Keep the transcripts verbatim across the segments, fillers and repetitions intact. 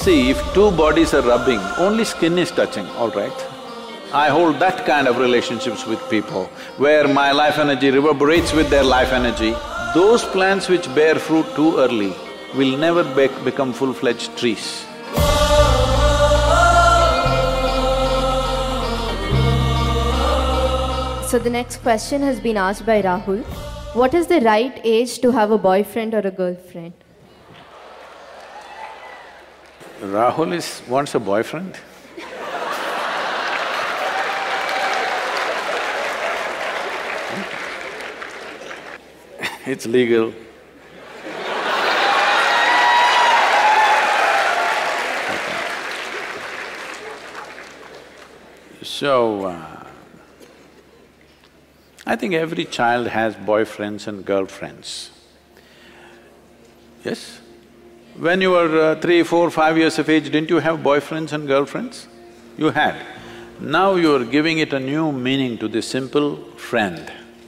See, if two bodies are rubbing, only skin is touching, all right? I hold that kind of relationships with people, where my life energy reverberates with their life energy. Those plants which bear fruit too early will never be become full-fledged trees. So the next question has been asked by Rahul. What is the right age to have a boyfriend or a girlfriend? Rahul is… wants a boyfriend? It's legal. So, uh, I think every child has boyfriends and girlfriends. Yes? When you were uh, three, four, five years of age, didn't you have boyfriends and girlfriends? You had. Now you are giving it a new meaning to this simple friend.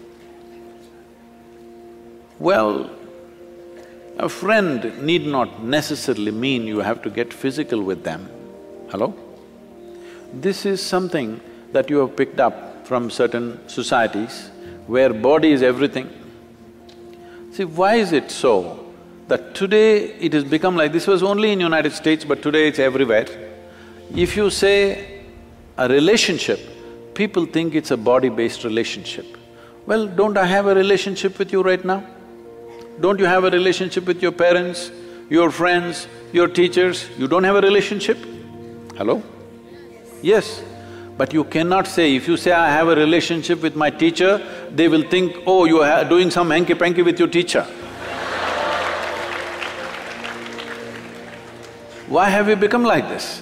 Well, a friend need not necessarily mean you have to get physical with them. Hello? This is something that you have picked up from certain societies where body is everything. See, why is it so that today it has become like… this was only in United States, but today it's everywhere. If you say a relationship, people think it's a body-based relationship. Well, don't I have a relationship with you right now? Don't you have a relationship with your parents, your friends, your teachers? You don't have a relationship? Hello? Yes. But you cannot say, if you say, I have a relationship with my teacher, they will think, oh, you are doing some hanky-panky with your teacher. Why have you become like this?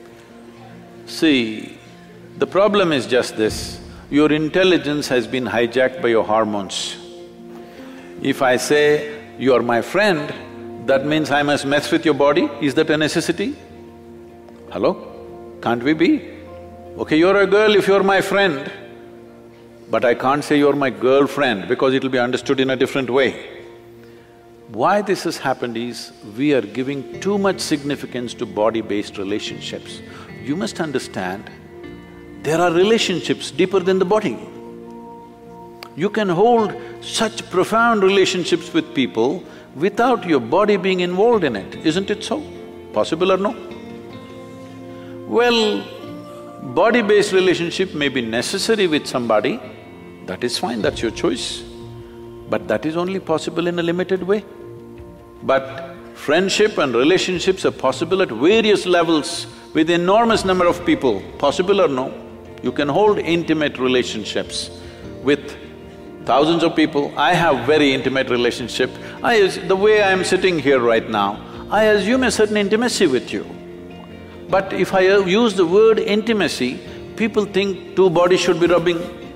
See, the problem is just this, your intelligence has been hijacked by your hormones. If I say, you are my friend, that means I must mess with your body, is that a necessity? Hello? Can't we be? Okay, you're a girl if you're my friend, but I can't say you're my girlfriend because it'll be understood in a different way. Why this has happened is, we are giving too much significance to body-based relationships. You must understand, there are relationships deeper than the body. You can hold such profound relationships with people without your body being involved in it, isn't it so? Possible or no? Well, body-based relationship may be necessary with somebody, that is fine, that's your choice. But that is only possible in a limited way. But friendship and relationships are possible at various levels with enormous number of people, possible or no? You can hold intimate relationships with thousands of people. I have very intimate relationship. I… the way I am sitting here right now, I assume a certain intimacy with you. But if I use the word intimacy, people think two bodies should be rubbing.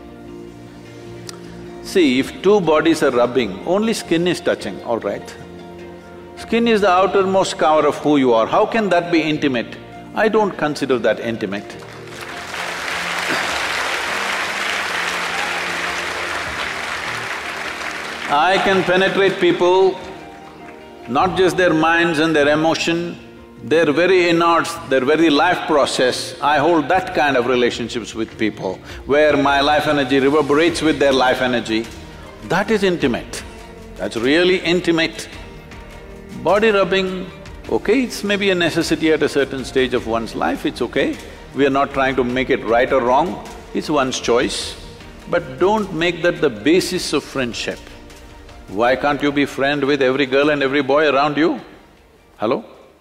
See, if two bodies are rubbing, only skin is touching, all right? Skin is the outermost cover of who you are. How can that be intimate? I don't consider that intimate. I can penetrate people, not just their minds and their emotion, their very innards, their very life process. I hold that kind of relationships with people, where my life energy reverberates with their life energy. That is intimate, that's really intimate. Body rubbing, okay, it's maybe a necessity at a certain stage of one's life, it's okay. We are not trying to make it right or wrong, it's one's choice. But don't make that the basis of friendship. Why can't you be friend with every girl and every boy around you? Hello?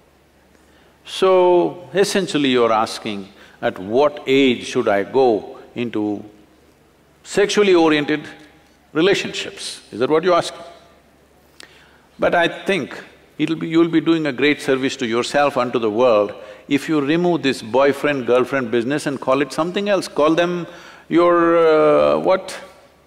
So, essentially you're asking, at what age should I go into sexually oriented relationships? Is that what you're asking? But I think it'll be… you'll be doing a great service to yourself and to the world if you remove this boyfriend-girlfriend business and call it something else. Call them your… Uh, what?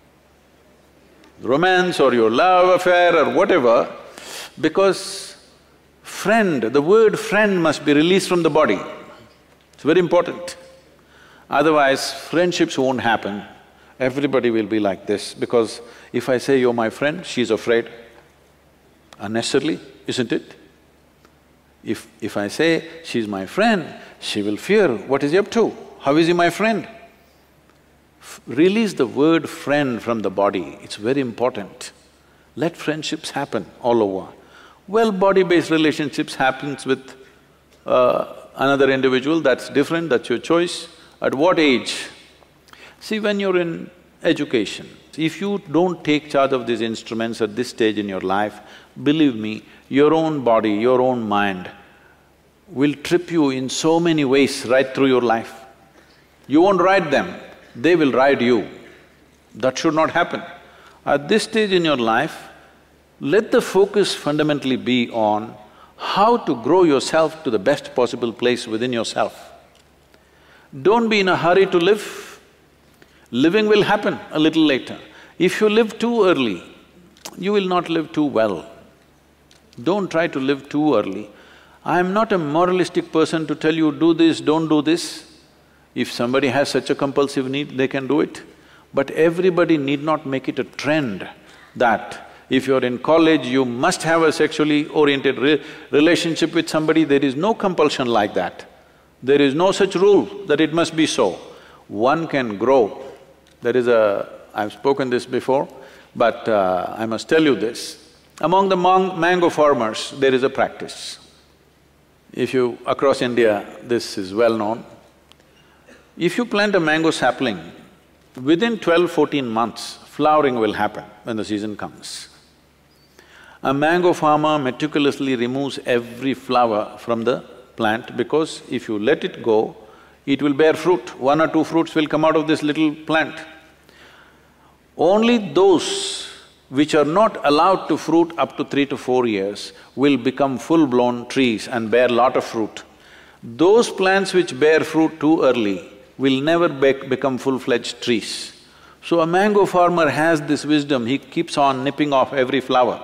romance or your love affair or whatever, because friend, the word friend must be released from the body. It's very important. Otherwise, friendships won't happen. Everybody will be like this, because if I say, you're my friend, she's afraid. Unnecessarily, isn't it? If… if I say, she's my friend, she will fear, what is he up to? How is he my friend? F release the word friend from the body, it's very important. Let friendships happen all over. Well, body-based relationships happens with uh, another individual, that's different, that's your choice. At what age? See, when you're in education, if you don't take charge of these instruments at this stage in your life, believe me, your own body, your own mind will trip you in so many ways right through your life. You won't ride them, they will ride you. That should not happen. At this stage in your life, let the focus fundamentally be on how to grow yourself to the best possible place within yourself. Don't be in a hurry to live. Living will happen a little later. If you live too early, you will not live too well. Don't try to live too early. I am not a moralistic person to tell you, do this, don't do this. If somebody has such a compulsive need, they can do it. But everybody need not make it a trend that if you're in college, you must have a sexually oriented re relationship with somebody. There is no compulsion like that. There is no such rule that it must be so. One can grow. There is a… I've spoken this before, but uh, I must tell you this. Among the mang mango farmers, there is a practice. If you… across India, this is well known. If you plant a mango sapling, within twelve, fourteen months, flowering will happen when the season comes. A mango farmer meticulously removes every flower from the plant because if you let it go, it will bear fruit. One or two fruits will come out of this little plant. Only those which are not allowed to fruit up to three to four years will become full-blown trees and bear lot of fruit. Those plants which bear fruit too early will never bec become full-fledged trees. So a mango farmer has this wisdom, he keeps on nipping off every flower.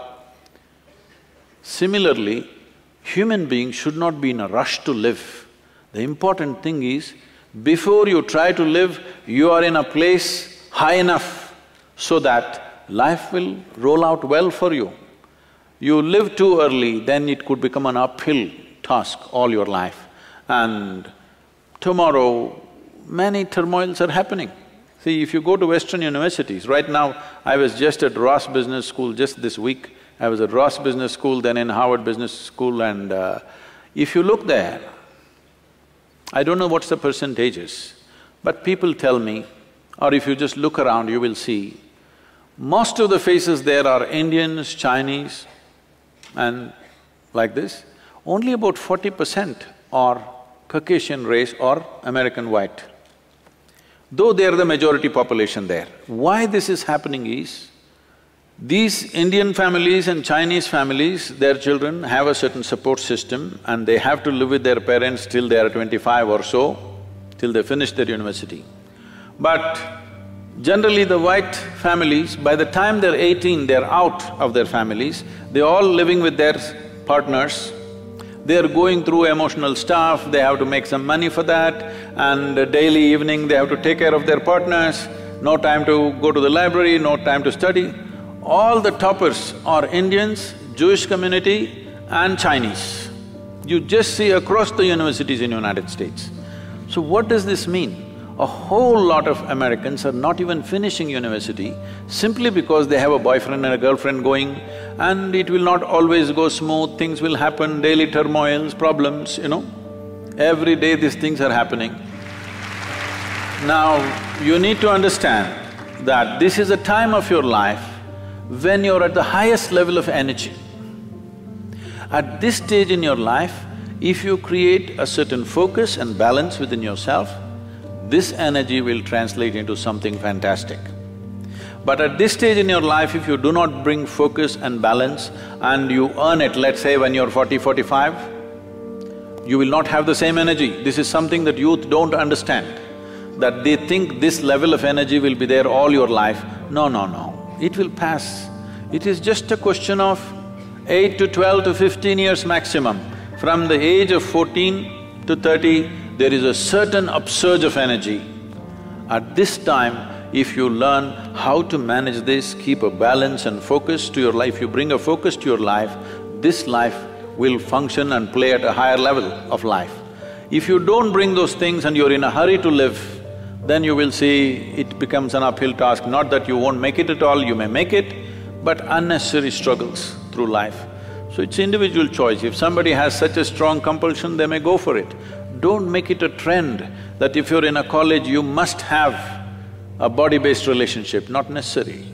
Similarly, human beings should not be in a rush to live. The important thing is, before you try to live, you are in a place high enough so that life will roll out well for you. You live too early, then it could become an uphill task all your life. And tomorrow, many turmoils are happening. See, if you go to Western universities, right now I was just at Ross Business School just this week. I was at Ross Business School, then in Harvard Business School, and uh, if you look there, I don't know what's the percentages, but people tell me, or if you just look around, you will see, most of the faces there are Indians, Chinese, and like this. Only about forty percent are Caucasian race or American white, though they are the majority population there. Why this is happening is, these Indian families and Chinese families, their children have a certain support system and they have to live with their parents till they are twenty-five or so, till they finish their university. But generally the white families, by the time they're eighteen, they're out of their families, they're all living with their partners, they're going through emotional stuff, they have to make some money for that, and daily evening they have to take care of their partners, no time to go to the library, no time to study. All the toppers are Indians, Jewish community and Chinese. You just see across the universities in United States. So what does this mean? A whole lot of Americans are not even finishing university simply because they have a boyfriend and a girlfriend going, and it will not always go smooth, things will happen, daily turmoils, problems, you know. Every day these things are happening. Now, you need to understand that this is a time of your life when you're at the highest level of energy. At this stage in your life, if you create a certain focus and balance within yourself, this energy will translate into something fantastic. But at this stage in your life, if you do not bring focus and balance and you earn it, let's say when you're forty, forty-five, you will not have the same energy. This is something that youth don't understand, that they think this level of energy will be there all your life. No, no, no. It will pass. It is just a question of eight to twelve to fifteen years maximum. From the age of fourteen to thirty, there is a certain upsurge of energy. At this time, if you learn how to manage this, keep a balance and focus to your life, you bring a focus to your life, this life will function and play at a higher level of life. If you don't bring those things and you're in a hurry to live, then you will see it becomes an uphill task. Not that you won't make it at all, you may make it, but unnecessary struggles through life. So it's individual choice. If somebody has such a strong compulsion, they may go for it. Don't make it a trend that if you're in a college, you must have a body-based relationship, not necessary.